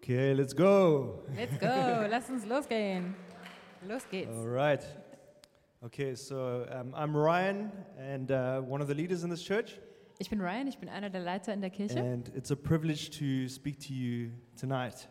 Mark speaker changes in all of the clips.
Speaker 1: Okay, let's go.
Speaker 2: Let's go, lass uns losgehen. Los geht's.
Speaker 1: All right. Okay, so I'm Ryan and one of the leaders in this church,
Speaker 2: Ich bin Ryan, ich bin einer der Leiter in der Kirche.
Speaker 1: and it's a privilege to speak to you tonight.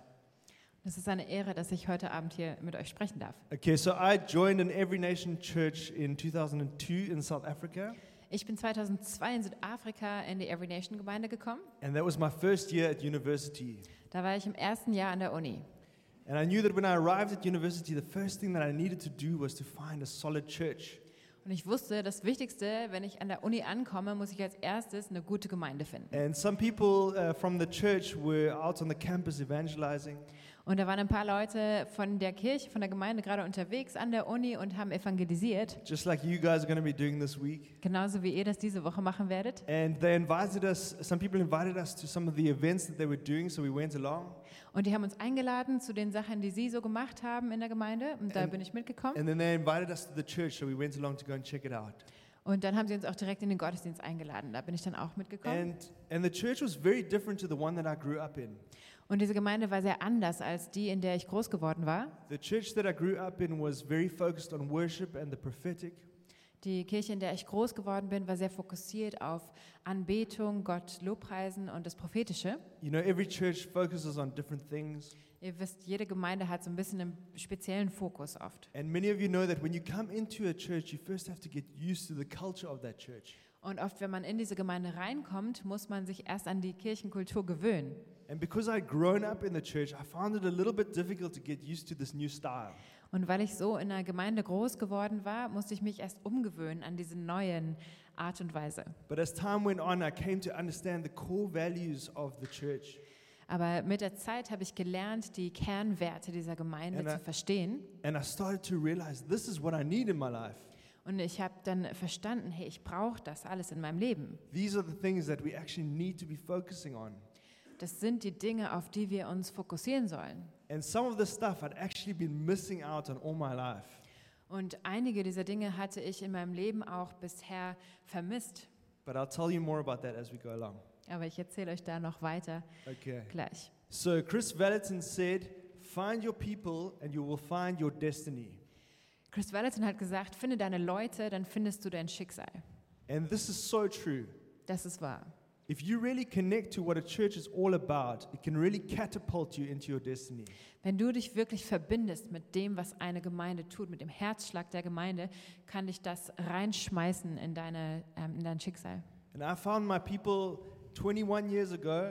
Speaker 2: Es ist eine Ehre, dass ich heute Abend hier mit euch sprechen darf.
Speaker 1: Okay, so I joined an Every Nation church in 2002 in South Africa,
Speaker 2: Ich bin 2002 in Südafrika in die Every Nation Gemeinde gekommen.
Speaker 1: and that was my first year at university.
Speaker 2: Da war ich im ersten Jahr an der Uni.
Speaker 1: And I knew that when I arrived at university, the first thing that I needed to do was to find a solid church.
Speaker 2: Und ich wusste, das Wichtigste, wenn ich an der Uni ankomme, muss ich als erstes eine gute Gemeinde finden.
Speaker 1: And some people from the church were out on the campus evangelizing.
Speaker 2: Und da waren ein paar Leute von der Kirche, von der Gemeinde gerade unterwegs an der Uni und haben evangelisiert.
Speaker 1: Just like you guys are going to be doing this week.
Speaker 2: Genauso wie ihr das diese Woche machen werdet.
Speaker 1: And they invited us, some people invited us to some of the events that they were doing, so we went along.
Speaker 2: Und die haben uns eingeladen zu den Sachen, die sie so gemacht haben in der Gemeinde. Und da bin ich mitgekommen.
Speaker 1: And then they invited us to the church, so we went along to go and check it out.
Speaker 2: Und dann haben sie uns auch direkt in den Gottesdienst eingeladen. Da bin ich dann auch mitgekommen.
Speaker 1: And the church was very different to the one that I grew up in.
Speaker 2: Und diese Gemeinde war sehr anders als die, in der ich groß geworden war.
Speaker 1: The church that I grew up in was very focused on worship and the prophetic.
Speaker 2: Die Kirche, in der ich groß geworden bin, war sehr fokussiert auf Anbetung, Gott Lobpreisen und das Prophetische.
Speaker 1: You know, every church focuses on different things.
Speaker 2: Ihr wisst, jede Gemeinde hat so ein bisschen einen speziellen Fokus oft.
Speaker 1: And many of you know that when you come into a church, you first have to get used to the culture of that church.
Speaker 2: Und oft, wenn man in diese Gemeinde reinkommt, muss man sich erst an die Kirchenkultur gewöhnen.
Speaker 1: And because I'd grown up in the church, I found it a little bit difficult to get used to this new style.
Speaker 2: Und weil ich so in einer Gemeinde groß geworden war, musste ich mich erst umgewöhnen an diese neuen Art und Weise.
Speaker 1: But as time went on, I came to understand the core values of the church.
Speaker 2: Aber mit der Zeit habe ich gelernt, die Kernwerte dieser Gemeinde
Speaker 1: And I-
Speaker 2: zu verstehen.
Speaker 1: And I started to realize this is what I need in my life.
Speaker 2: Und ich habe dann verstanden, hey, ich brauche das alles in meinem Leben.
Speaker 1: These are the things that we actually need to be focusing on.
Speaker 2: Das sind die Dinge, auf die wir uns fokussieren sollen.
Speaker 1: And some of the stuff I'd actually been missing out on all my life.
Speaker 2: Und einige dieser Dinge hatte ich in meinem Leben auch bisher vermisst.
Speaker 1: But I'll tell you more about that as we go along.
Speaker 2: Aber ich erzähle euch da noch weiter
Speaker 1: Okay.
Speaker 2: gleich.
Speaker 1: So Chris Vallotton said, find your people and you will find your destiny.
Speaker 2: Chris Vallotton hat gesagt, finde deine Leute, dann findest du dein Schicksal.
Speaker 1: And this is so true.
Speaker 2: Das ist wahr.
Speaker 1: If you really connect to what a church is all about, it can really catapult you into your destiny.
Speaker 2: Wenn du dich wirklich verbindest mit dem, was eine Gemeinde tut, mit dem Herzschlag der Gemeinde, kann dich das reinschmeißen in dein Schicksal.
Speaker 1: And I found my people 21 years ago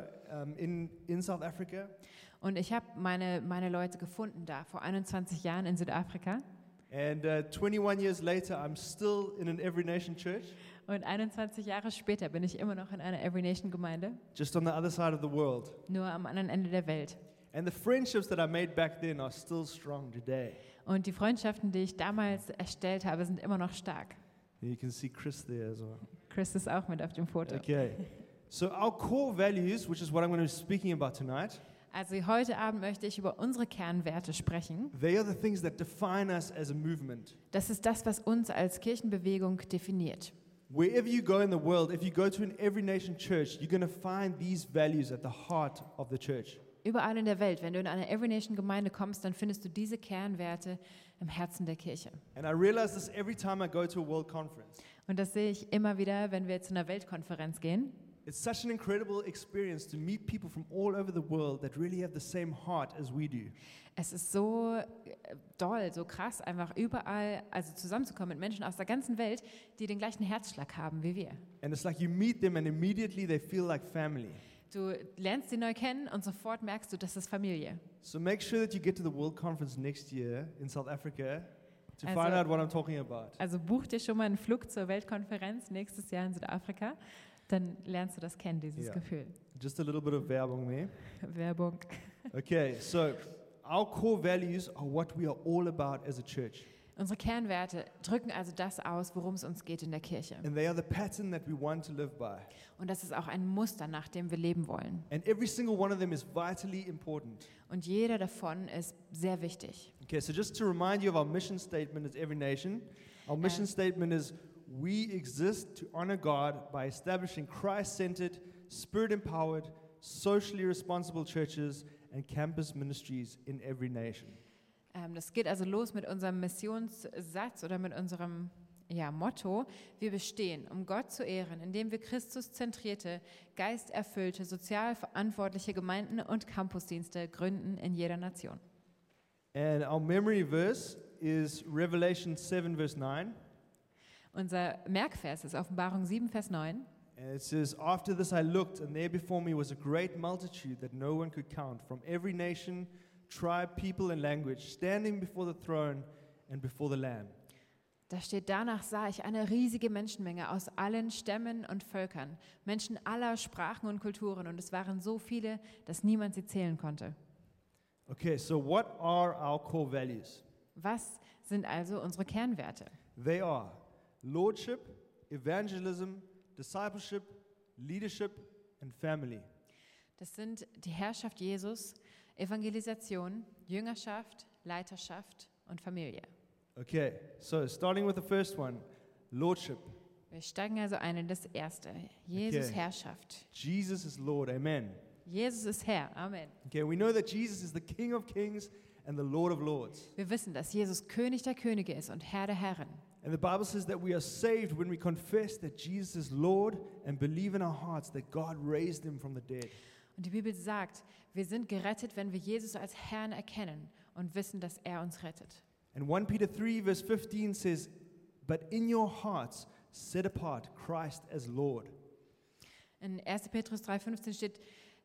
Speaker 1: in South Africa.
Speaker 2: Und ich habe meine Leute gefunden da, vor 21 Jahren in Südafrika.
Speaker 1: And 21 years later, I'm still in an Every Nation church,
Speaker 2: Und 21 Jahre später bin ich immer noch in einer Every Nation Gemeinde,
Speaker 1: just on the other side of the world.
Speaker 2: nur am anderen Ende der Welt.
Speaker 1: And the friendships that I made back then are still strong today.
Speaker 2: Und die Freundschaften, die ich damals erstellt habe, sind immer noch stark.
Speaker 1: You can see Chris there as well.
Speaker 2: Chris ist auch mit auf dem Foto.
Speaker 1: Okay. So our core values, which is what I'm going to be speaking about tonight,
Speaker 2: Also heute Abend möchte ich über unsere Kernwerte sprechen.
Speaker 1: they are the things that define us as a movement.
Speaker 2: Das ist das, was uns als Kirchenbewegung definiert.
Speaker 1: Wherever you go in the world, if you go to an Every Nation church, you're going to find these values at the heart of the church.
Speaker 2: Überall in der Welt, wenn du in eine Every Nation Gemeinde kommst, dann findest du diese Kernwerte im Herzen der Kirche.
Speaker 1: And I realize this every time I go to a world conference.
Speaker 2: Und das sehe ich immer wieder, wenn wir zu einer Weltkonferenz gehen.
Speaker 1: It's such an incredible experience to meet people from all over the world that really have the same heart as we do.
Speaker 2: Es ist so doll, so krass, einfach überall, also zusammenzukommen mit Menschen aus der ganzen Welt, die den gleichen Herzschlag haben wie wir.
Speaker 1: And it's like you meet them and immediately they feel like family.
Speaker 2: Du lernst sie neu kennen und sofort merkst du, das ist Familie.
Speaker 1: So make sure that you get to the World Conference next year in South Africa to
Speaker 2: Also-
Speaker 1: find out what I'm talking about.
Speaker 2: Also buch dir schon mal einen Flug zur Weltkonferenz nächstes Jahr in Südafrika, dann lernst du das kennen, dieses
Speaker 1: Ja.
Speaker 2: Gefühl.
Speaker 1: Just a little bit of Werbung there.
Speaker 2: Werbung.
Speaker 1: Okay, so our core values are what we are all about as a church.
Speaker 2: Unsere Kernwerte drücken also das aus, worum es uns geht in der Kirche.
Speaker 1: And they are the pattern that we want to live by.
Speaker 2: Und das ist auch ein Muster, nach dem wir leben wollen.
Speaker 1: And every single one of them is vitally important.
Speaker 2: Und jeder davon ist sehr wichtig.
Speaker 1: Okay, so just to remind you of our mission statement as Every Nation, our mission statement is we exist to honor God by establishing Christ-centered, spirit-empowered, socially responsible churches and campus ministries in every nation.
Speaker 2: Das geht also los mit unserem Missionssatz oder mit unserem Motto. Wir bestehen, um Gott zu ehren, indem wir Christus-zentrierte, geisterfüllte, sozial verantwortliche Gemeinden und Campusdienste gründen in jeder Nation.
Speaker 1: And our memory verse is Revelation 7, verse 9.
Speaker 2: Unser Merkvers ist Offenbarung 7, Vers 9.
Speaker 1: And it says, "After this I looked, and there before me was a great multitude that no one could count, from every nation, tribe, people, and language, standing before the throne and before the Lamb."
Speaker 2: Da steht, danach sah ich eine riesige Menschenmenge aus allen Stämmen und Völkern, Menschen aller Sprachen und Kulturen, und es waren so viele, dass niemand sie zählen konnte.
Speaker 1: Okay, so what are our core values?
Speaker 2: Was sind also unsere Kernwerte?
Speaker 1: They are lordship, evangelism, discipleship, leadership, and family.
Speaker 2: Das sind die Herrschaft Jesus, Evangelisation, Jüngerschaft, Leiterschaft und Familie.
Speaker 1: Okay, so starting with the first one, lordship.
Speaker 2: Wir steigen also ein in das Erste, Jesus
Speaker 1: Okay.
Speaker 2: Herrschaft.
Speaker 1: Jesus is Lord, amen.
Speaker 2: Jesus ist Herr, Amen.
Speaker 1: Okay, we know that Jesus is the King of Kings and the Lord of Lords.
Speaker 2: Wir wissen, dass Jesus König der Könige ist und Herr der Herren.
Speaker 1: And the Bible says that we are saved when we confess that Jesus is Lord and believe in our hearts that God raised him from the dead.
Speaker 2: Und die Bibel sagt, wir sind gerettet, wenn wir Jesus als Herrn erkennen und wissen, dass er uns rettet.
Speaker 1: And 1 Peter 3 verse 15 says, "But in your hearts set apart Christ as Lord."
Speaker 2: In 1. Petrus 3,15 steht,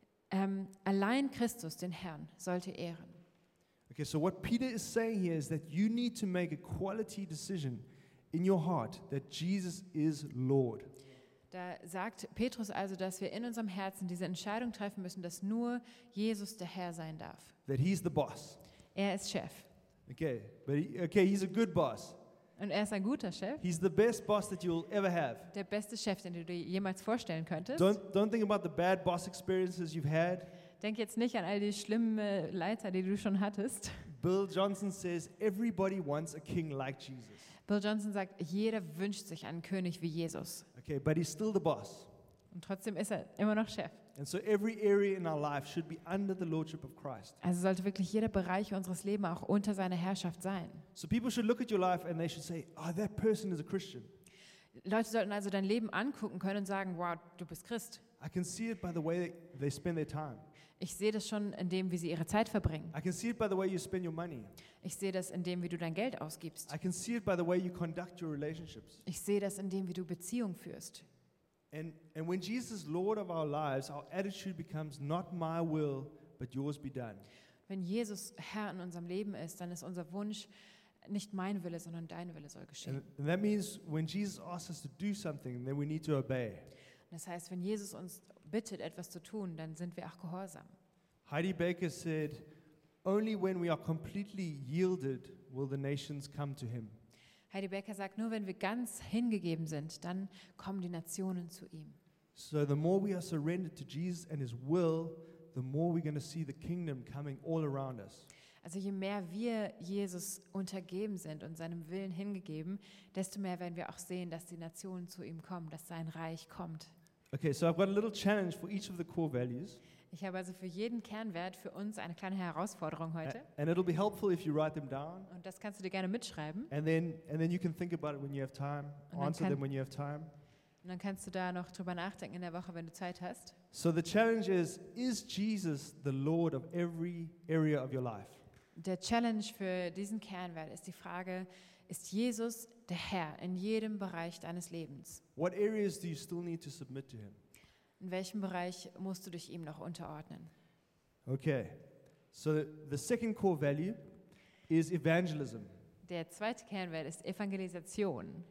Speaker 2: allein Christus, den Herrn, sollte ehren.
Speaker 1: Okay, so what Peter is saying here is that you need to make a quality decision in your heart that Jesus is Lord.
Speaker 2: Da sagt Petrus also, dass wir in unserem Herzen diese Entscheidung treffen müssen, dass nur Jesus der Herr sein darf.
Speaker 1: That he's the boss.
Speaker 2: Er ist Chef.
Speaker 1: Okay, but he's a good boss.
Speaker 2: Und er ist ein guter Chef,
Speaker 1: He's the best boss that you'll ever have.
Speaker 2: der beste Chef, den du dir jemals vorstellen könntest.
Speaker 1: Don't think about the bad boss experiences you've had.
Speaker 2: Denk jetzt nicht an all die schlimmen Leiter, die du schon hattest.
Speaker 1: Bill Johnson says everybody wants a king like Jesus.
Speaker 2: Bill Johnson sagt, jeder wünscht sich einen König wie Jesus.
Speaker 1: Okay, but he's still the boss.
Speaker 2: Und trotzdem ist er immer noch Chef.
Speaker 1: And so every area in our life should be under the lordship of Christ.
Speaker 2: Also sollte wirklich jeder Bereich unseres Lebens auch unter seiner Herrschaft sein.
Speaker 1: So people should look at your life and they should say, "Oh, that person is a Christian.
Speaker 2: Leute sollten also dein Leben angucken können und sagen, wow, du bist Christ.
Speaker 1: I can see it by the way they spend their time.
Speaker 2: Ich sehe das schon in dem, wie sie ihre Zeit verbringen.
Speaker 1: I can see it by the way you spend your money.
Speaker 2: Ich sehe das in dem, wie du dein Geld ausgibst.
Speaker 1: I can see it by the way you conduct your relationships."
Speaker 2: Ich sehe das in dem, wie du Beziehung führst.
Speaker 1: And when Jesus is Lord of our lives, our attitude becomes not my will, but yours be done.
Speaker 2: Wenn Jesus Herr in unserem Leben ist, dann ist unser Wunsch nicht mein Wille, sondern dein Wille soll geschehen.
Speaker 1: And that means when Jesus asks us to do something, then we need to obey.
Speaker 2: Das heißt, wenn Jesus uns bittet, etwas zu tun, dann sind wir auch gehorsam.
Speaker 1: Heidi Baker said, "Only when we are completely yielded will the nations come to him."
Speaker 2: Heidi Becker sagt, nur wenn wir ganz hingegeben sind, dann kommen die Nationen zu ihm.
Speaker 1: So the more we are surrendered to Jesus and his will, the more we're going to see the kingdom coming all around us.
Speaker 2: Also je mehr wir Jesus untergeben sind und seinem Willen hingegeben, desto mehr werden wir auch sehen, dass die Nationen zu ihm kommen, dass sein Reich kommt.
Speaker 1: Okay, so I've got a little challenge for each of the core values.
Speaker 2: Ich habe also für jeden Kernwert für uns eine kleine Herausforderung heute.
Speaker 1: And it'll be helpful if you write them down.
Speaker 2: Und das kannst du dir gerne mitschreiben.
Speaker 1: And then you can think about it when you have time,
Speaker 2: And then
Speaker 1: answer
Speaker 2: can-
Speaker 1: them when you have time.
Speaker 2: Und dann kannst du da noch drüber nachdenken in der Woche, wenn du Zeit hast.
Speaker 1: So the challenge is Jesus the Lord of every area of your life?
Speaker 2: Der Challenge für diesen Kernwert ist die Frage, ist Jesus der Herr in jedem Bereich deines Lebens?
Speaker 1: What areas do you still need to submit to him?
Speaker 2: In welchem Bereich musst du dich ihm noch unterordnen?
Speaker 1: Okay, so the second core value is evangelism.
Speaker 2: Der zweite Kernwert ist Evangelisation.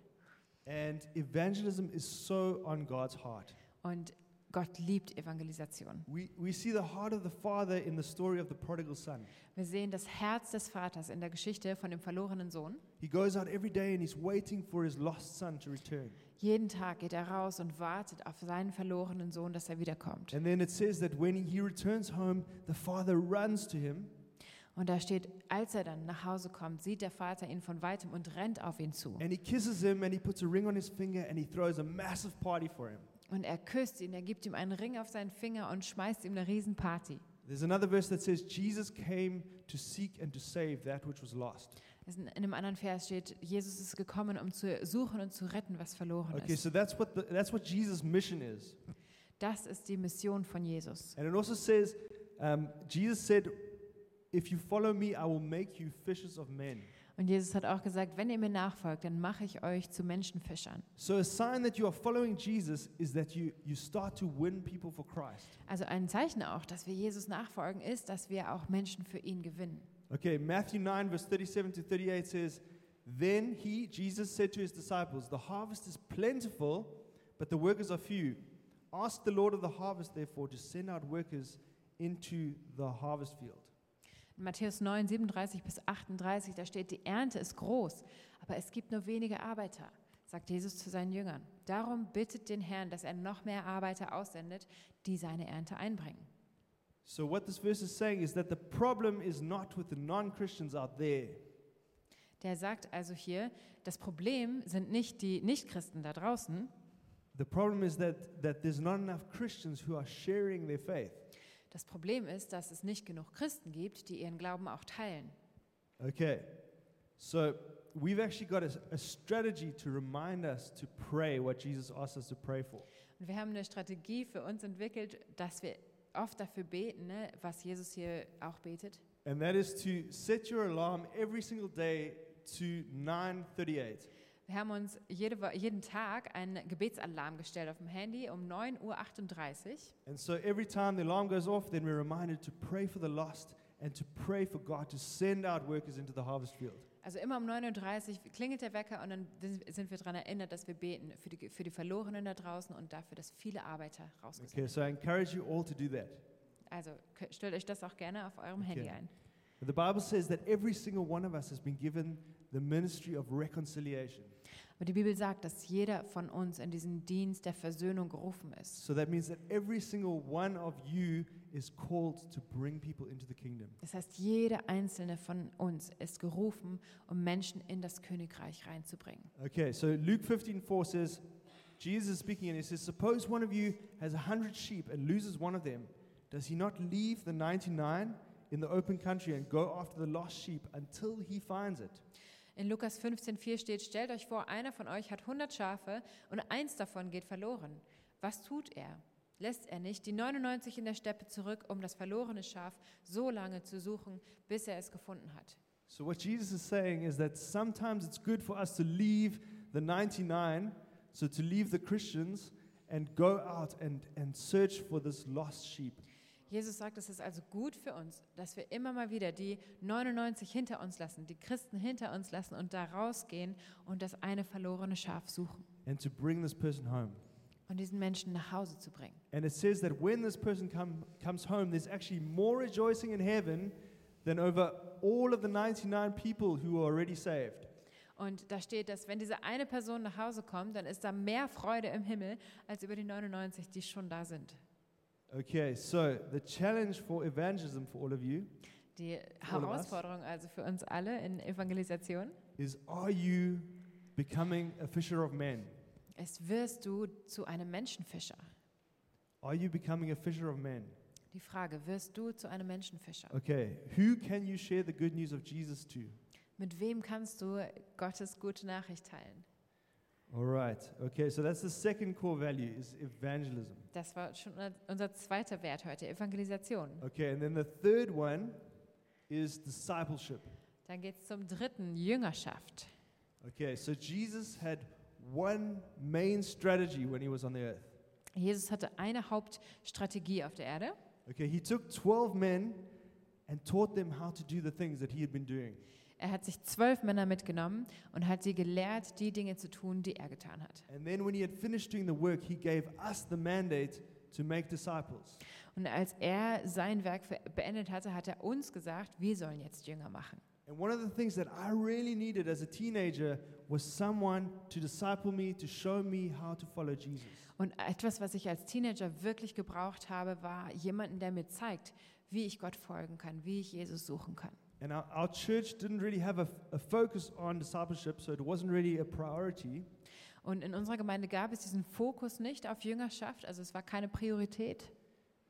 Speaker 1: And evangelism is so on God's heart.
Speaker 2: Und Gott liebt Evangelisation.
Speaker 1: We see the heart of the Father in the story of the prodigal son.
Speaker 2: Wir sehen das Herz des Vaters in der Geschichte von dem verlorenen Sohn.
Speaker 1: He goes out every day and he's waiting for his lost son to return.
Speaker 2: Jeden Tag geht er raus und wartet auf seinen verlorenen Sohn, dass er wiederkommt.
Speaker 1: And then it says that when he returns home, the father runs to him.
Speaker 2: Und da steht, als er dann nach Hause kommt, sieht der Vater ihn von weitem und rennt auf ihn zu.
Speaker 1: And he kisses him and he puts a ring on his finger and he throws a massive party for him.
Speaker 2: Und er küsst ihn, er gibt ihm einen Ring auf seinen Finger und schmeißt ihm eine Riesenparty.
Speaker 1: There's another verse that says, Jesus came to seek and to save that which was lost.
Speaker 2: In einem anderen Vers steht, Jesus ist gekommen, um zu suchen und zu retten, was verloren
Speaker 1: Okay,
Speaker 2: ist.
Speaker 1: so that's what Jesus' mission is.
Speaker 2: Das ist die Mission von Jesus.
Speaker 1: And it also says, Jesus said, if you follow me, I will make you fishers of men.
Speaker 2: Und Jesus hat auch gesagt, wenn ihr mir nachfolgt, dann mache ich euch zu Menschenfischern.
Speaker 1: So a sign that you are following Jesus is that you start to win people for Christ.
Speaker 2: Also ein Zeichen auch, dass wir Jesus nachfolgen, ist, dass wir auch Menschen für ihn gewinnen.
Speaker 1: Okay, Matthew 9, verse 37 to 38 says, Then he, Jesus, said to his disciples, The harvest is plentiful, but the workers are few. Ask the Lord of the harvest, therefore, to send out workers into the harvest field.
Speaker 2: In Matthäus 9, 37 bis 38, da steht, die Ernte ist groß, aber es gibt nur wenige Arbeiter, sagt Jesus zu seinen Jüngern. Darum bittet den Herrn, dass er noch mehr Arbeiter aussendet, die seine Ernte einbringen.
Speaker 1: So what this verse is saying is that the problem is not with the non-Christians out there.
Speaker 2: Der sagt also hier, das Problem sind nicht die Nichtchristen da draußen.
Speaker 1: The problem is that there's not enough Christians who are sharing their faith.
Speaker 2: Das Problem ist, dass es nicht genug Christen gibt, die ihren Glauben auch teilen.
Speaker 1: Okay, so we've actually got a strategy to remind us to pray what Jesus asked us to pray for.
Speaker 2: Und wir haben eine Strategie für uns entwickelt, dass wir oft dafür beten, ne, was Jesus hier auch betet.
Speaker 1: And that is to set your alarm every single day to 9:38.
Speaker 2: Wir haben uns jeden Tag einen Gebetsalarm gestellt auf dem Handy um 9:38 Uhr.
Speaker 1: And so every time the alarm goes off, then we're reminded to pray for the lost and to pray for God to send out workers into the harvest field.
Speaker 2: Also immer um 9:30 Uhr klingelt der Wecker und dann sind wir daran erinnert, dass wir beten für die Verlorenen da draußen und dafür, dass viele Arbeiter rausgesendet
Speaker 1: Okay, so I encourage you all to do that.
Speaker 2: Also stellt euch das auch gerne auf eurem Handy ein.
Speaker 1: The Bible says that every single one of us has been given the ministry of reconciliation.
Speaker 2: Aber die Bibel sagt, dass jeder von uns in diesen Dienst der Versöhnung gerufen ist.
Speaker 1: So that means that every single one of you is called to bring people into the kingdom.
Speaker 2: Das heißt, jeder einzelne von uns ist gerufen, um Menschen in das Königreich reinzubringen.
Speaker 1: Okay, so Luke 15:4 says, Jesus is speaking and he says, Suppose one of you has 100 sheep and loses one of them. Does he not leave the 99 in the open country and go after the lost sheep until he finds it?
Speaker 2: In Lukas 15,4 steht, stellt euch vor, einer von euch hat 100 Schafe und eins davon geht verloren. Was tut er? Lässt er nicht die 99 in der Steppe zurück, um das verlorene Schaf so lange zu suchen, bis er es gefunden hat?
Speaker 1: So what Jesus is saying is that sometimes it's good for us to leave the 99, so to leave the Christians and go out and search for this lost sheep.
Speaker 2: Jesus sagt, es ist also gut für uns, dass wir immer mal wieder die 99 hinter uns lassen, die Christen hinter uns lassen und da rausgehen und das eine verlorene Schaf suchen
Speaker 1: And to bring this person home.
Speaker 2: und diesen Menschen nach Hause zu bringen.
Speaker 1: And it says that when this person comes home, there's actually more rejoicing in heaven than over all of the 99 people who are already saved.
Speaker 2: Und da steht, dass wenn diese eine Person nach Hause kommt, dann ist da mehr Freude im Himmel als über die 99, die schon da sind.
Speaker 1: Okay, so the challenge for evangelism for all of you
Speaker 2: Die
Speaker 1: all of us.
Speaker 2: Herausforderung also für uns alle in Evangelisation
Speaker 1: is, are you becoming a fisher of men?
Speaker 2: ist, wirst du zu einem Menschenfischer?
Speaker 1: Are you becoming a fisher of men?
Speaker 2: Die Frage, wirst du zu einem Menschenfischer?
Speaker 1: Okay, who can you share the good news of Jesus to?
Speaker 2: Mit wem kannst du Gottes gute Nachricht teilen?
Speaker 1: All right. Okay, so that's the second core value is evangelism.
Speaker 2: Das war schon unser zweiter Wert heute, Evangelisation.
Speaker 1: Okay, and then the third one is discipleship.
Speaker 2: Dann geht es zum dritten, Jüngerschaft.
Speaker 1: Okay, so Jesus had one main strategy when he was on the earth.
Speaker 2: Jesus hatte eine Hauptstrategie auf der Erde.
Speaker 1: Okay, he took 12 men and taught them how to do the things that he had been doing.
Speaker 2: Er hat sich 12 Männer mitgenommen und hat sie gelehrt, die Dinge zu tun, die er getan hat.
Speaker 1: And then when he had finished doing the work, he gave us the mandate to make disciples.
Speaker 2: Und als er sein Werk beendet hatte, hat er uns gesagt, wir sollen jetzt Jünger machen.
Speaker 1: And one of the things that I really needed as a teenager was someone to disciple me, to show me how to follow Jesus.
Speaker 2: Und etwas, was ich als Teenager wirklich gebraucht habe, war jemanden, der mir zeigt, wie ich Gott folgen kann, wie ich Jesus suchen kann.
Speaker 1: And our church didn't really have a focus on discipleship, so it wasn't really a priority.
Speaker 2: Und in unserer Gemeinde gab es diesen Fokus nicht auf Jüngerschaft, also es war keine Priorität.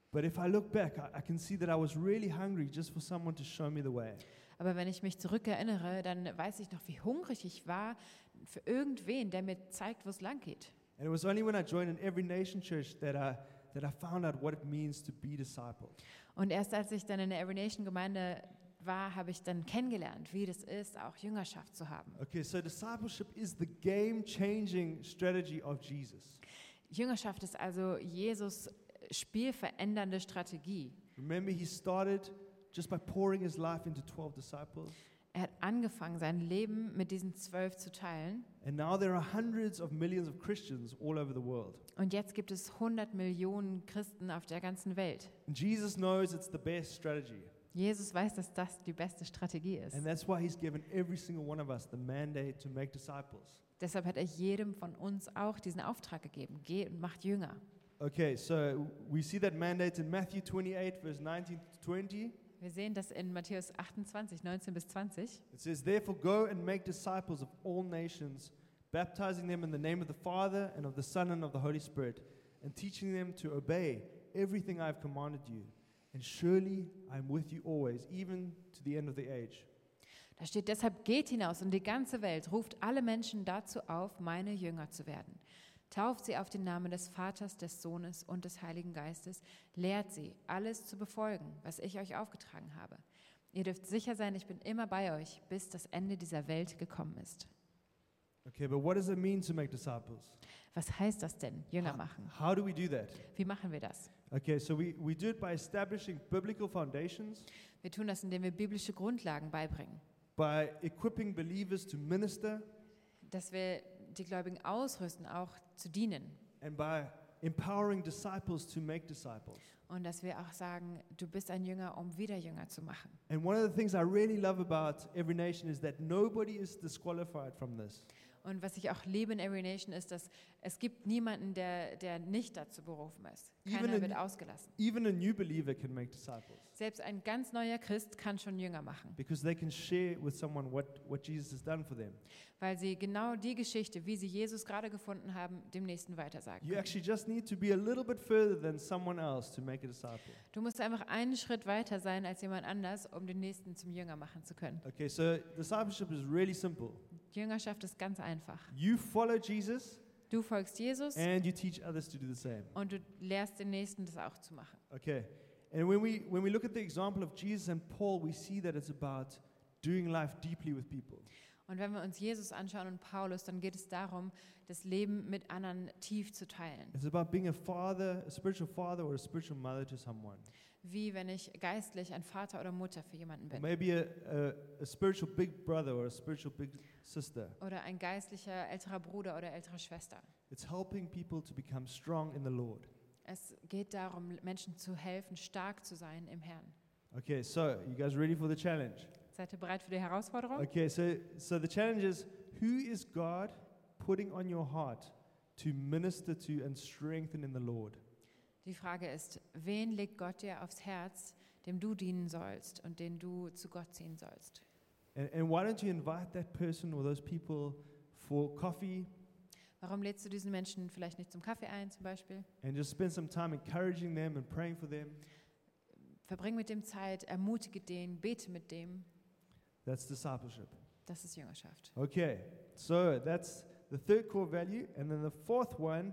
Speaker 1: But if I look back, I can see that I was really hungry just for someone to show me the way.
Speaker 2: Aber wenn ich mich zurückerinnere, dann weiß ich noch, wie hungrig ich war für irgendwen, der mir zeigt, wo es lang geht.
Speaker 1: And it was only when I joined an Every Nation church that I found out what it means to be discipled.
Speaker 2: Und erst als ich dann in der Every Nation Gemeinde war, habe ich dann kennengelernt, wie das ist, auch Jüngerschaft zu haben.
Speaker 1: Okay, so discipleship is the game-changing strategy of Jesus.
Speaker 2: Jüngerschaft ist also Jesus spielverändernde Strategie.
Speaker 1: Remember, he started just by pouring his life into 12 disciples.
Speaker 2: Er hat angefangen, sein Leben mit diesen 12 zu teilen.
Speaker 1: And now there are hundreds of millions of Christians all over the world.
Speaker 2: Und jetzt gibt es 100 Millionen Christen auf der ganzen Welt.
Speaker 1: And Jesus knows it's the best strategy.
Speaker 2: Jesus weiß, dass das die beste Strategie ist.
Speaker 1: And that's why he's given every single one of us the mandate to make disciples.
Speaker 2: Deshalb hat er jedem von uns auch diesen Auftrag gegeben. Geht und macht Jünger.
Speaker 1: Okay, so we see that mandate in Matthew 28, verse 19 to 20.
Speaker 2: Wir sehen das in Matthäus 28, 19 bis 20.
Speaker 1: It says, "Therefore go and make disciples of all nations, baptizing them in the name of the Father and of the Son and of the Holy Spirit, and teaching them to obey everything I have commanded you. And surely I am with you always, even to the end of the age."
Speaker 2: Da steht, deshalb geht hinaus in die ganze Welt, ruft alle Menschen dazu auf, meine Jünger zu werden. Tauft sie auf den Namen des Vaters, des Sohnes und des Heiligen Geistes, lehrt sie, alles zu befolgen, was ich euch aufgetragen habe. Ihr dürft sicher sein, ich bin immer bei euch, bis das Ende dieser Welt gekommen ist.
Speaker 1: Okay, but what does it mean to make disciples?
Speaker 2: Was heißt das denn, Jünger machen?
Speaker 1: How do we do that?
Speaker 2: Wie machen wir das?
Speaker 1: Okay, so we do it by establishing biblical foundations,
Speaker 2: Wir tun das, indem wir biblische Grundlagen beibringen,
Speaker 1: by equipping believers to minister,
Speaker 2: dass wir die Gläubigen ausrüsten, auch zu dienen.
Speaker 1: and by empowering disciples to make disciples.
Speaker 2: Und dass wir auch sagen, du bist ein Jünger, um wieder Jünger zu machen.
Speaker 1: And one of the things I really love about Every Nation is that nobody is disqualified from this.
Speaker 2: Und was ich auch liebe in Every Nation ist, dass es gibt niemanden, der nicht dazu berufen ist.
Speaker 1: Even
Speaker 2: Keiner
Speaker 1: in-
Speaker 2: wird ausgelassen.
Speaker 1: Even a new believer can make disciples
Speaker 2: Selbst ein ganz neuer Christ kann schon Jünger machen,
Speaker 1: because they can share with someone what Jesus has done for them.
Speaker 2: weil sie genau die Geschichte, wie sie Jesus gerade gefunden haben, dem Nächsten weitersagen
Speaker 1: You
Speaker 2: können.
Speaker 1: actually just need to be a little bit further than someone else to make a disciple.
Speaker 2: Du musst einfach einen Schritt weiter sein als jemand anders, um den Nächsten zum Jünger machen zu können.
Speaker 1: Okay, so discipleship is really simple.
Speaker 2: Jüngerschaft ist ganz einfach.
Speaker 1: You follow Jesus
Speaker 2: Du folgst Jesus
Speaker 1: and you teach others to do the same.
Speaker 2: und du lehrst den Nächsten, das auch zu machen.
Speaker 1: Okay. And when we look at the example of Jesus and Paul, we see that it's about doing life deeply with people.
Speaker 2: Und wenn wir uns Jesus anschauen und Paulus, dann geht es darum, das Leben mit anderen tief zu teilen.
Speaker 1: It's about being a father, a spiritual father or a spiritual mother to someone.
Speaker 2: Wie wenn ich geistlich ein Vater oder Mutter für jemanden
Speaker 1: Or
Speaker 2: bin.
Speaker 1: maybe a spiritual big brother or a spiritual big sister.
Speaker 2: Oder ein geistlicher älterer Bruder oder ältere Schwester.
Speaker 1: It's helping people to become strong in the Lord.
Speaker 2: Es geht darum, Menschen zu helfen, stark zu sein im Herrn.
Speaker 1: Okay, so you guys ready for the challenge?
Speaker 2: Seid ihr bereit für die Herausforderung?
Speaker 1: Okay, so the challenge is, who is God putting on your heart to minister to and strengthen in the Lord?
Speaker 2: Die Frage ist, wen legt Gott dir aufs Herz, dem du dienen sollst und den du zu Gott ziehen sollst?
Speaker 1: And why don't you invite that person or those people for coffee
Speaker 2: Warum lädst du diesen Menschen vielleicht nicht zum Kaffee ein zum Beispiel?
Speaker 1: and just spend some time encouraging them and praying for them?
Speaker 2: Verbring mit dem Zeit, ermutige den, bete mit dem.
Speaker 1: That's discipleship.
Speaker 2: Das ist Jüngerschaft.
Speaker 1: Okay, so that's the third core value. And then the fourth one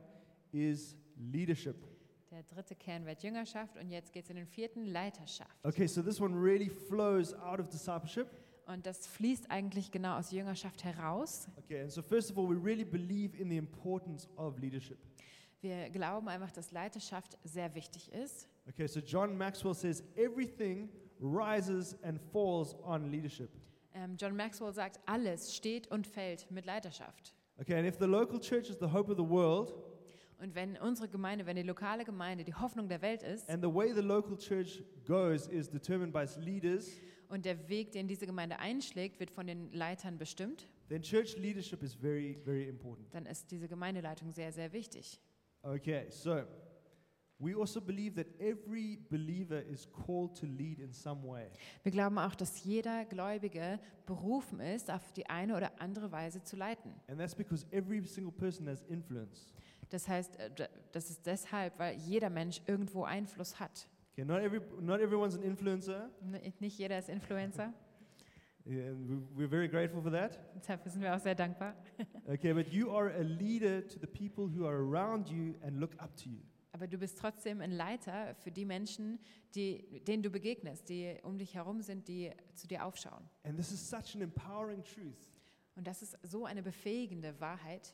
Speaker 1: is leadership.
Speaker 2: Der dritte Kernwert Jüngerschaft und jetzt geht es in den vierten Leiterschaft.
Speaker 1: Okay, so this one really flows out of discipleship.
Speaker 2: Und das fließt eigentlich genau aus Jüngerschaft heraus.
Speaker 1: Okay, and so first of all, we really believe in the importance of leadership.
Speaker 2: Wir glauben einfach, dass Leiterschaft sehr wichtig ist.
Speaker 1: Okay, so John Maxwell says everything rises and falls on leadership.
Speaker 2: John Maxwell sagt, alles steht und fällt mit Leiterschaft.
Speaker 1: Okay, and if the local church is the hope of the world,
Speaker 2: Und wenn unsere Gemeinde, wenn die lokale Gemeinde die Hoffnung der Welt ist
Speaker 1: and the way the local church goes is determined by its leaders,
Speaker 2: und der Weg, den diese Gemeinde einschlägt, wird von den Leitern bestimmt,
Speaker 1: then church leadership is very, very important.
Speaker 2: dann ist diese Gemeindeleitung sehr, sehr wichtig.
Speaker 1: Okay, so we also believe that every believer is called to lead in some way.
Speaker 2: Wir glauben auch, dass jeder Gläubige berufen ist, auf die eine oder andere Weise zu leiten.
Speaker 1: And that's because every single person has influence.
Speaker 2: Das heißt, das ist deshalb, weil jeder Mensch irgendwo Einfluss hat.
Speaker 1: Okay, not everyone's an influencer.
Speaker 2: Nicht jeder ist Influencer,
Speaker 1: Yeah, and we're very grateful for that.
Speaker 2: dafür sind wir auch sehr dankbar.
Speaker 1: Okay, but you are a leader to the people who are around you and look up to you.
Speaker 2: Aber du bist trotzdem ein Leiter für die Menschen, denen du begegnest, die um dich herum sind, die zu dir aufschauen.
Speaker 1: And this is such an empowering truth.
Speaker 2: Und das ist so eine befähigende Wahrheit.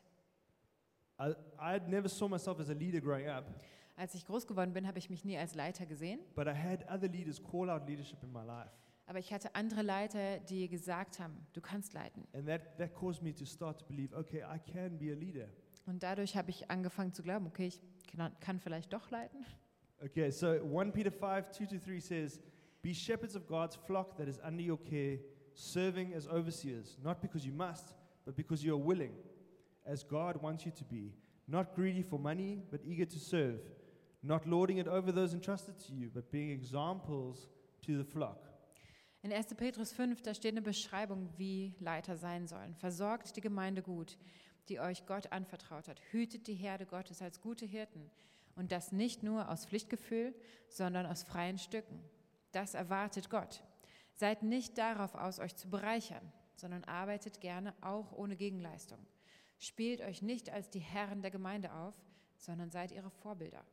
Speaker 1: I never saw myself as a leader growing up,
Speaker 2: Als ich groß geworden bin, habe ich mich nie als Leiter gesehen.
Speaker 1: but I had other leaders call out leadership in my life.
Speaker 2: Aber ich hatte andere Leiter, die gesagt haben, du kannst leiten.
Speaker 1: And that caused me to start to believe, okay, I can be a leader.
Speaker 2: Und dadurch habe ich angefangen zu glauben, okay, ich kann vielleicht doch leiten.
Speaker 1: Okay, so 1 Peter 5, 2-3 says, Be shepherds of God's flock that is under your care, serving as overseers, not because you must, but because you are willing, as God wants you to be, not greedy for money, but eager to serve, not lording it over those entrusted to you, but being examples to the flock.
Speaker 2: In 1. Petrus 5, da steht eine Beschreibung, wie Leiter sein sollen. Versorgt die Gemeinde gut, die euch Gott anvertraut hat. Hütet die Herde Gottes als gute Hirten. Und das nicht nur aus Pflichtgefühl, sondern aus freien Stücken. Das erwartet Gott. Seid nicht darauf aus, euch zu bereichern, sondern arbeitet gerne auch ohne Gegenleistung. Spielt euch nicht als die Herren der Gemeinde auf, sondern seid ihre Vorbilder.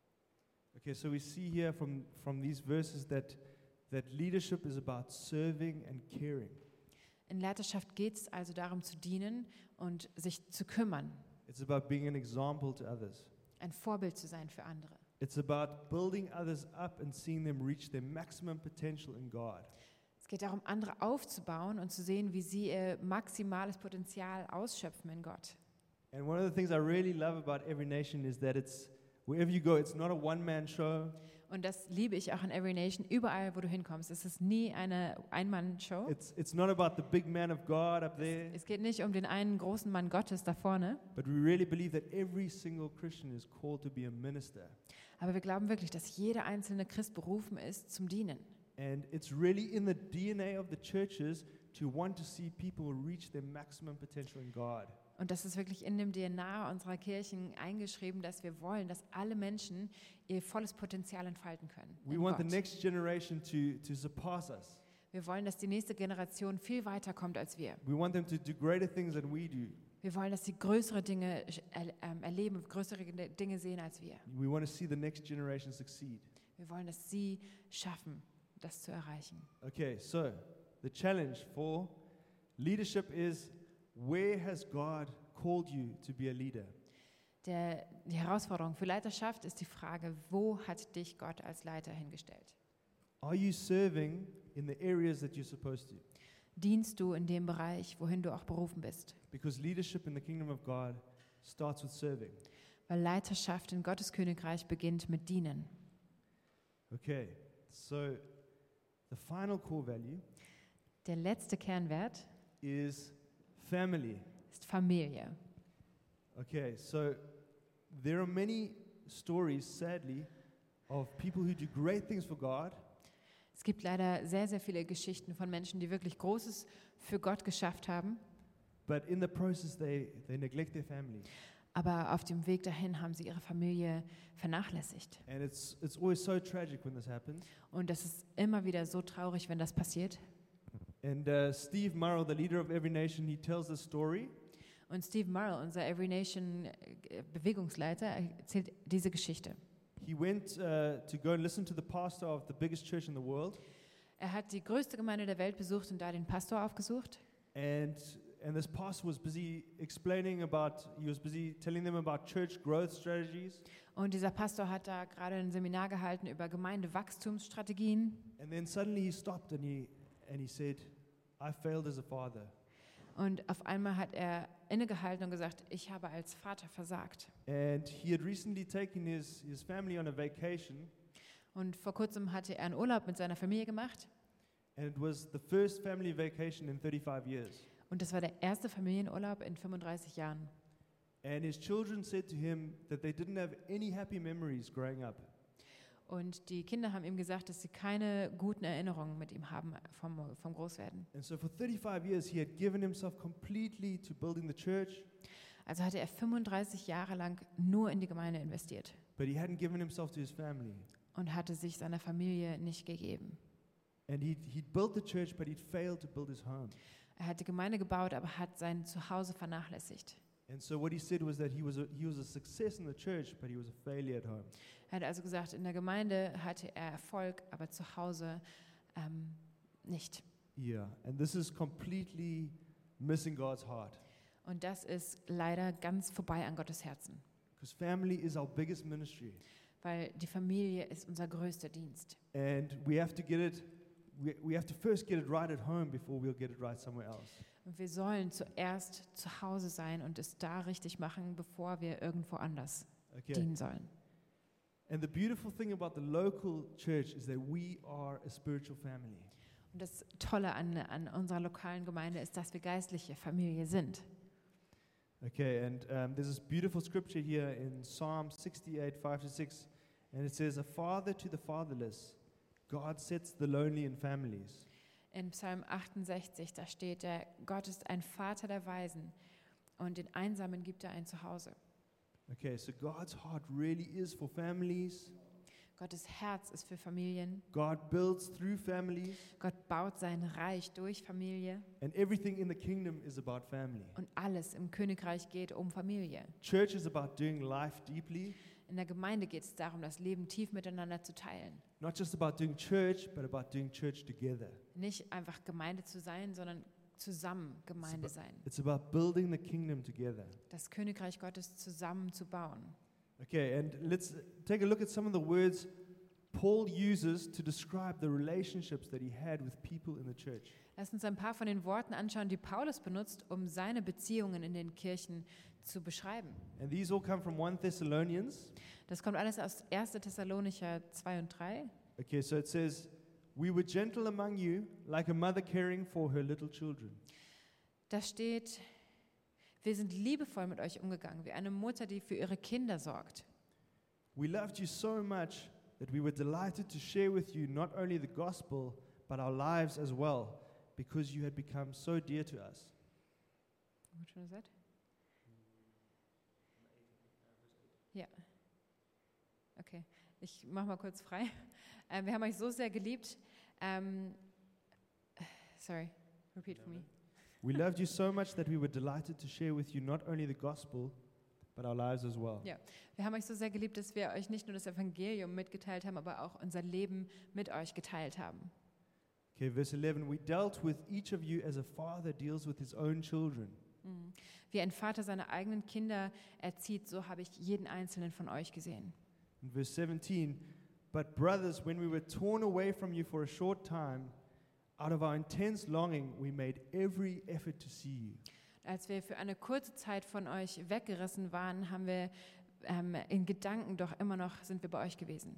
Speaker 1: Okay, so we see here from these verses that leadership is about serving and caring.
Speaker 2: In Leiterschaft geht es also darum zu dienen und sich zu kümmern,
Speaker 1: It's about being an example to others.
Speaker 2: ein Vorbild zu sein für andere.
Speaker 1: It's about building others up and seeing them reach their maximum potential in God.
Speaker 2: Es geht darum, andere aufzubauen und zu sehen, wie sie ihr maximales Potenzial ausschöpfen in Gott.
Speaker 1: And one of the things I really love about Every Nation is that wherever you go, it's not a one-man show.
Speaker 2: Und das liebe ich auch in Every Nation. Überall, wo du hinkommst, es ist nie eine Ein-Mann-Show.
Speaker 1: It's not about the big man of God up there,
Speaker 2: Es geht nicht um den einen großen Mann Gottes da vorne,
Speaker 1: but we really believe that every single Christian is called to be a minister.
Speaker 2: aber wir glauben wirklich, dass jeder einzelne Christ berufen ist zum Dienen.
Speaker 1: And it's really in the DNA of the churches to want to see people reach their maximum potential in God.
Speaker 2: Und das ist wirklich in dem DNA unserer Kirchen eingeschrieben, dass wir wollen, dass alle Menschen ihr volles Potenzial entfalten können.
Speaker 1: We
Speaker 2: in
Speaker 1: want the
Speaker 2: Gott.
Speaker 1: next generation to surpass us.
Speaker 2: Wir wollen, dass die nächste Generation viel weiter kommt als wir.
Speaker 1: We want them to do greater things than we do.
Speaker 2: Wir wollen, dass sie größere Dinge erleben, größere Dinge sehen als wir.
Speaker 1: We want to see the next generation succeed.
Speaker 2: Wir wollen, dass sie schaffen, das zu erreichen.
Speaker 1: Okay, so the challenge for leadership is, where has God called you to be a leader?
Speaker 2: Die Herausforderung für Leiterschaft ist die Frage, wo hat dich Gott als Leiter hingestellt?
Speaker 1: Are you serving in the areas that you're supposed to?
Speaker 2: Dienst du in dem Bereich, wohin du auch berufen bist?
Speaker 1: Because leadership in the kingdom of God starts with serving.
Speaker 2: Weil Leiterschaft in Gottes Königreich beginnt mit Dienen.
Speaker 1: Okay, so the final core value
Speaker 2: Der letzte Kernwert
Speaker 1: is family.
Speaker 2: ist Familie.
Speaker 1: Okay, so there are many stories, sadly, of people who do great things for God,
Speaker 2: Es gibt leider sehr, sehr viele Geschichten von Menschen, die wirklich Großes für Gott geschafft haben,
Speaker 1: but in the process they neglect their family.
Speaker 2: aber auf dem Weg dahin haben sie ihre Familie vernachlässigt.
Speaker 1: And it's always so tragic when this happens.
Speaker 2: Und das ist immer wieder so traurig, wenn das passiert.
Speaker 1: And Steve Murrell, the leader of Every Nation, he tells this story.
Speaker 2: Und Steve Murrell, unser Every Nation Bewegungsleiter, erzählt diese Geschichte.
Speaker 1: He went to go and listen to the pastor of the biggest church in the world.
Speaker 2: Er hat die größte Gemeinde der Welt besucht und da den Pastor aufgesucht.
Speaker 1: And this pastor was busy he was busy telling them about church growth strategies.
Speaker 2: Und dieser Pastor hat da gerade ein Seminar gehalten über Gemeindewachstumsstrategien.
Speaker 1: And then suddenly he stopped and he said, I failed as a father.
Speaker 2: Und auf einmal hat er innegehalten und gesagt, ich habe als Vater versagt.
Speaker 1: And he had recently taken his family on a vacation,
Speaker 2: Und vor kurzem hatte er einen Urlaub mit seiner Familie gemacht.
Speaker 1: and it was the first family vacation in 35 years.
Speaker 2: Und das war der erste Familienurlaub in 35 Jahren.
Speaker 1: And his children said to him that they didn't have any happy memories growing up.
Speaker 2: Und die Kinder haben ihm gesagt, dass sie keine guten Erinnerungen mit ihm haben vom Großwerden.
Speaker 1: And so for 35 years he had given himself completely to building the church.
Speaker 2: Also hatte er 35 Jahre lang nur in die Gemeinde investiert
Speaker 1: but he hadn't given himself to his family.
Speaker 2: und hatte sich seiner Familie nicht gegeben.
Speaker 1: And he'd built the church, but he'd failed to build his home.
Speaker 2: Er hat die Gemeinde gebaut, aber hat sein Zuhause vernachlässigt.
Speaker 1: And so what he said was that he was a success in the church, but he was a failure at home.
Speaker 2: Er hat also gesagt, in der Gemeinde hatte er Erfolg, aber zu Hause nicht.
Speaker 1: Yeah, and this is completely missing God's heart.
Speaker 2: Und das ist leider ganz vorbei an Gottes Herzen,
Speaker 1: Because family is our biggest ministry.
Speaker 2: weil die Familie ist unser größter Dienst.
Speaker 1: And we have to get it, we have to first get it right at home before we'll get it right somewhere else.
Speaker 2: Und wir sollen zuerst zu Hause sein und es da richtig machen, bevor wir irgendwo anders
Speaker 1: Okay.
Speaker 2: dienen sollen.
Speaker 1: And the beautiful thing about the local church is that we are a spiritual family.
Speaker 2: Und das Tolle an unserer lokalen Gemeinde ist, dass wir geistliche Familie sind.
Speaker 1: Okay, and there's this beautiful scripture here in Psalm 68, 5-6, and it says, "A father to the fatherless, God sets the lonely in families."
Speaker 2: In Psalm 68, da steht, Gott ist ein Vater der Weisen und den Einsamen gibt er ein Zuhause.
Speaker 1: Okay, so God's heart really is for families.
Speaker 2: Gottes Herz ist für Familien.
Speaker 1: God builds through families,
Speaker 2: Gott baut sein Reich durch Familie
Speaker 1: and everything in the kingdom is about family.
Speaker 2: und alles im Königreich geht um Familie.
Speaker 1: Church is about doing life deeply,
Speaker 2: In der Gemeinde geht es darum, das Leben tief miteinander zu teilen.
Speaker 1: not just about doing church, but about doing church together.
Speaker 2: Nicht einfach Gemeinde zu sein, sondern zusammen Gemeinde sein.
Speaker 1: It's about building the kingdom together.
Speaker 2: Das Königreich Gottes zusammen zu bauen.
Speaker 1: Okay, and let's take a look at some of the words Paul uses to describe the relationships that he had with people in the church.
Speaker 2: Lass uns ein paar von den Worten anschauen, die Paulus benutzt, um seine Beziehungen in den Kirchen zu beschreiben.
Speaker 1: And these all come from 1 Thessalonians.
Speaker 2: Das kommt alles aus 1. Thessalonicher 2 und 3.
Speaker 1: Okay, so it says, "We were gentle among you, like a mother caring for her little children."
Speaker 2: Da steht, wir sind liebevoll mit euch umgegangen, wie eine Mutter, die für ihre Kinder sorgt.
Speaker 1: We loved you so much that we were delighted to share with you not only the gospel, but our lives as well, because you had become so dear to us.
Speaker 2: Which one is that? Ja. Okay, ich mache mal kurz frei. Wir haben euch so sehr geliebt. Sorry, repeat for me.
Speaker 1: We loved you so much that we were delighted to share with you not only the gospel, but our lives as well.
Speaker 2: Ja, wir haben euch so sehr geliebt, dass wir euch nicht nur das Evangelium mitgeteilt haben, aber auch unser Leben mit euch geteilt haben.
Speaker 1: Okay, verse 11, "We dealt with each of you as a father deals with his own children."
Speaker 2: Wie ein Vater seine eigenen Kinder erzieht, so habe ich jeden einzelnen von euch gesehen.
Speaker 1: In verse 17, "But brothers, when we were torn away from you for a short time, out of our intense longing, we made every effort to see you."
Speaker 2: Als wir für eine kurze Zeit von euch weggerissen waren, haben wir in Gedanken doch immer noch, sind wir bei euch gewesen.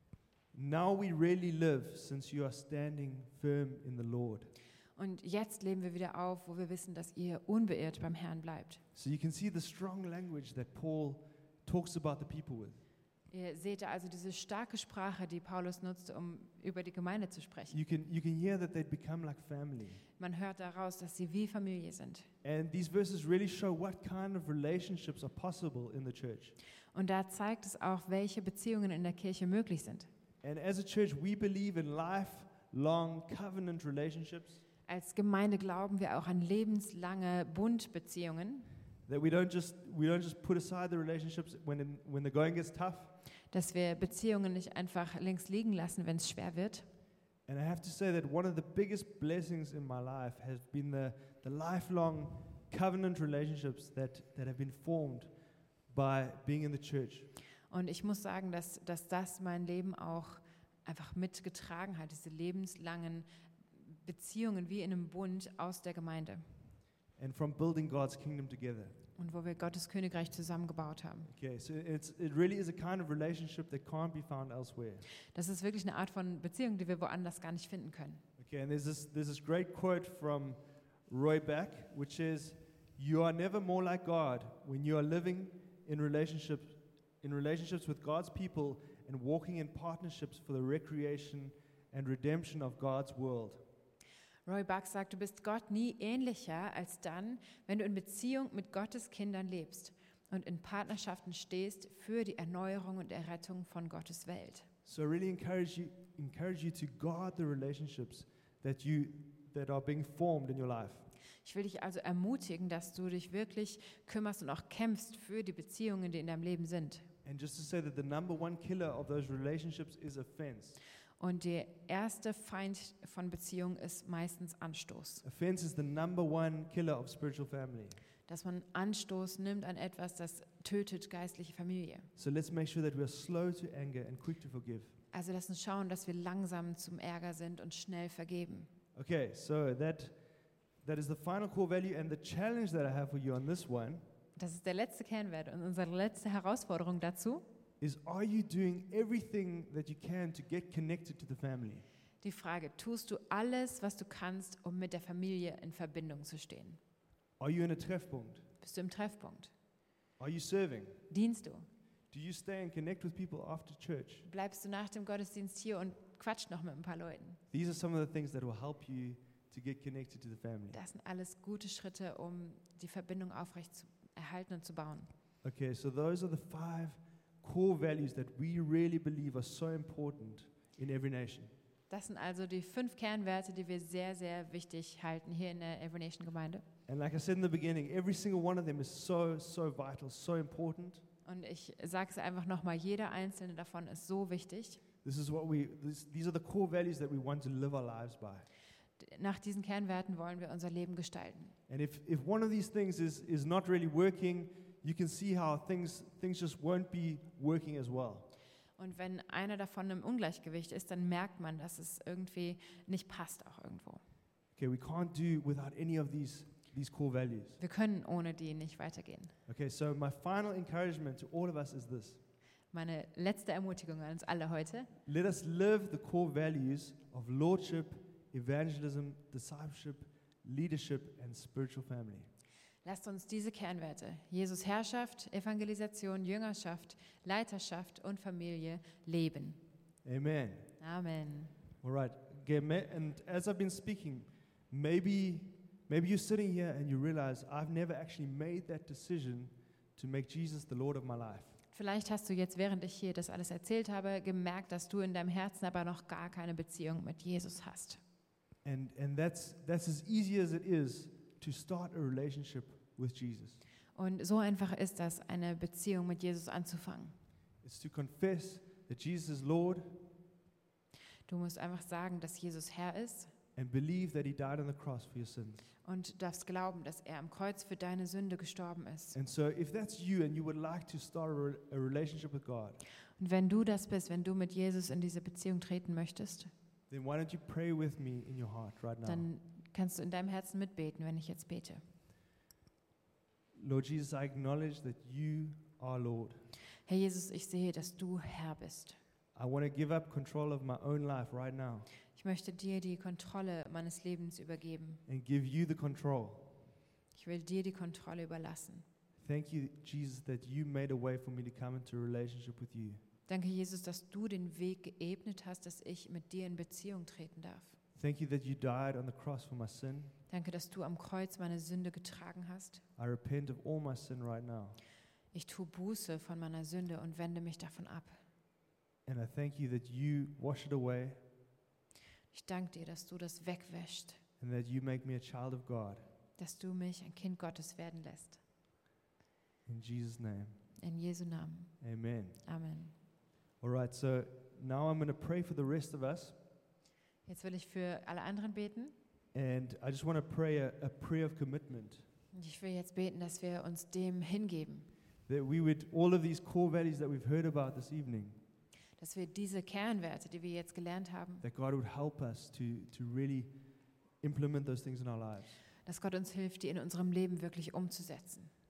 Speaker 1: "Now we really live, since you are standing firm in the Lord."
Speaker 2: Und jetzt leben wir wieder auf, wo wir wissen, dass ihr unbeirrt beim Herrn bleibt.
Speaker 1: So you can see the strong language that Paul talks about the people with.
Speaker 2: Ihr seht da also diese starke Sprache, die Paulus nutzte, um über die Gemeinde zu sprechen.
Speaker 1: You can hear that they'd become like family.
Speaker 2: Man hört daraus, dass sie wie Familie sind.
Speaker 1: And these verses really show what kind of relationships are possible in the church.
Speaker 2: Und da zeigt es auch, welche Beziehungen in der Kirche möglich sind.
Speaker 1: And as a church, we believe in lifelong covenant relationships.
Speaker 2: Als Gemeinde glauben wir auch an lebenslange Bundbeziehungen,
Speaker 1: That we don't just put aside the relationships when the going gets tough.
Speaker 2: dass wir Beziehungen nicht einfach links liegen lassen, wenn es schwer wird.
Speaker 1: And I have to say that one of the biggest blessings in my life has been the lifelong covenant relationships that have been formed by being in the church.
Speaker 2: Und ich muss sagen, dass das mein Leben auch einfach mitgetragen hat, diese lebenslangen Beziehungen wie in einem Bund aus der Gemeinde.
Speaker 1: And from building God's kingdom together.
Speaker 2: Und wo wir Gottes Königreich zusammengebaut haben.
Speaker 1: Okay, so it really is a kind of relationship that can't be found elsewhere.
Speaker 2: Das ist wirklich eine Art von Beziehung, die wir woanders gar nicht finden können.
Speaker 1: Okay, and there's this great quote from Roy Beck, which is, "You are never more like God when you are living in relationships with God's people and walking in partnerships for the recreation and redemption of God's world."
Speaker 2: Roy Buck sagt, du bist Gott nie ähnlicher als dann, wenn du in Beziehung mit Gottes Kindern lebst und in Partnerschaften stehst für die Erneuerung und Errettung von Gottes Welt.
Speaker 1: So I really encourage you to guard the relationships that are being formed in your life.
Speaker 2: Ich will dich also ermutigen, dass du dich wirklich kümmerst und auch kämpfst für die Beziehungen, die in deinem Leben sind.
Speaker 1: And just to say that the number one killer of those relationships is offense.
Speaker 2: Und der erste Feind von Beziehung ist meistens Anstoß.
Speaker 1: Offense is the number one killer of spiritual family.
Speaker 2: Dass man Anstoß nimmt an etwas, das tötet geistliche Familie.
Speaker 1: So let's make sure that we are slow to anger and quick to forgive.
Speaker 2: Also lass uns schauen, dass wir langsam zum Ärger sind und schnell vergeben.
Speaker 1: Okay, so that is the final core value, and the challenge that I have for you on this one
Speaker 2: Das ist der letzte Kernwert und unsere letzte Herausforderung dazu.
Speaker 1: is, are you doing everything that you can to get connected to the family?
Speaker 2: Die Frage, tust du alles, was du kannst, um mit der Familie in Verbindung zu stehen?
Speaker 1: Are you in a Treffpunkt?
Speaker 2: Bist du im Treffpunkt?
Speaker 1: Are you serving?
Speaker 2: Dienst du?
Speaker 1: Do you stay and connect with people after church?
Speaker 2: Bleibst du nach dem Gottesdienst hier und quatscht noch mit ein paar Leuten?
Speaker 1: These are some of the things that will help you to get connected to the family.
Speaker 2: Das sind alles gute Schritte, um die Verbindung aufrecht zu erhalten und zu bauen.
Speaker 1: Okay, so those are the 5 core values that we really believe are so important in every nation.
Speaker 2: Das sind also die 5 Kernwerte, die wir sehr, sehr wichtig halten hier in der Every Nation Gemeinde.
Speaker 1: And like I said in the beginning, every single one of them is so vital, so important.
Speaker 2: Und ich sage es einfach nochmal, jeder einzelne davon ist so wichtig.
Speaker 1: These are the core values that we want to live our lives by.
Speaker 2: Nach diesen Kernwerten wollen wir unser Leben gestalten.
Speaker 1: And if one of these things is not really working, you can see how things just won't be working as well.
Speaker 2: Und wenn einer davon im Ungleichgewicht ist, dann merkt man, dass es irgendwie nicht passt auch irgendwo.
Speaker 1: Okay, we can't do without any of these core values.
Speaker 2: Wir können ohne die nicht weitergehen.
Speaker 1: Okay, so my final encouragement to all of us is this.
Speaker 2: Meine letzte Ermutigung an uns alle heute:
Speaker 1: Let us live the core values of lordship, evangelism, discipleship, leadership, and spiritual family.
Speaker 2: Lasst uns diese Kernwerte, Jesus Herrschaft, Evangelisation, Jüngerschaft, Leiterschaft und Familie leben.
Speaker 1: Amen.
Speaker 2: Amen.
Speaker 1: All right. Okay, and as I've been speaking, maybe you're sitting here and you realize I've never actually made that decision to make Jesus the Lord of my life.
Speaker 2: Vielleicht hast du jetzt, während ich hier das alles erzählt habe, gemerkt, dass du in deinem Herzen aber noch gar keine Beziehung mit Jesus hast.
Speaker 1: And that's as easy as it is to start a relationship with Jesus.
Speaker 2: Und so einfach ist das, eine Beziehung mit Jesus anzufangen.
Speaker 1: It's to confess that Jesus is Lord
Speaker 2: Du musst einfach sagen, dass Jesus Herr ist
Speaker 1: and believe that he died on the cross for your sins.
Speaker 2: und du darfst glauben, dass er am Kreuz für deine Sünde gestorben ist.
Speaker 1: And so if that's you and you would like to start a relationship with God,
Speaker 2: Und wenn du das bist, wenn du mit Jesus in diese Beziehung treten möchtest,
Speaker 1: then why don't you pray with me in your heart right now?
Speaker 2: dann kannst du in deinem Herzen mitbeten, wenn ich jetzt bete.
Speaker 1: Lord Jesus, I acknowledge that you are Lord.
Speaker 2: Herr Jesus, ich sehe, dass du Herr bist.
Speaker 1: I want to give up control of my own life right now
Speaker 2: Ich möchte dir die Kontrolle meines Lebens übergeben.
Speaker 1: and give you the control.
Speaker 2: Ich will dir die Kontrolle überlassen.
Speaker 1: Thank you, Jesus, that you made a way for me to come into a relationship with you.
Speaker 2: Danke, Jesus, dass du den Weg geebnet hast, dass ich mit dir in Beziehung treten darf.
Speaker 1: Thank you that you died on the cross for my sin.
Speaker 2: Danke, dass du am Kreuz meine Sünde getragen hast.
Speaker 1: I repent of all my sin right now.
Speaker 2: Ich tue Buße von meiner Sünde und wende mich davon ab.
Speaker 1: And I thank you that you wash it away
Speaker 2: Ich danke dir, dass du das wegwäschst,
Speaker 1: and that you make me a child of God.
Speaker 2: dass du mich ein Kind Gottes werden lässt.
Speaker 1: In Jesus' name,
Speaker 2: In Jesu Namen.
Speaker 1: amen.
Speaker 2: Amen.
Speaker 1: All right, so now I'm going to pray for the rest of us.
Speaker 2: Jetzt will ich für alle anderen beten.
Speaker 1: And I just want to pray a prayer of commitment.
Speaker 2: Und ich will jetzt beten, dass wir uns dem hingeben.
Speaker 1: That we would, all of these core values that we've heard about this evening,
Speaker 2: Dass wir diese Kernwerte, die wir jetzt gelernt haben,
Speaker 1: that God would help us to really implement those things in our lives.
Speaker 2: dass Gott uns hilft, die in unserem Leben wirklich umzusetzen.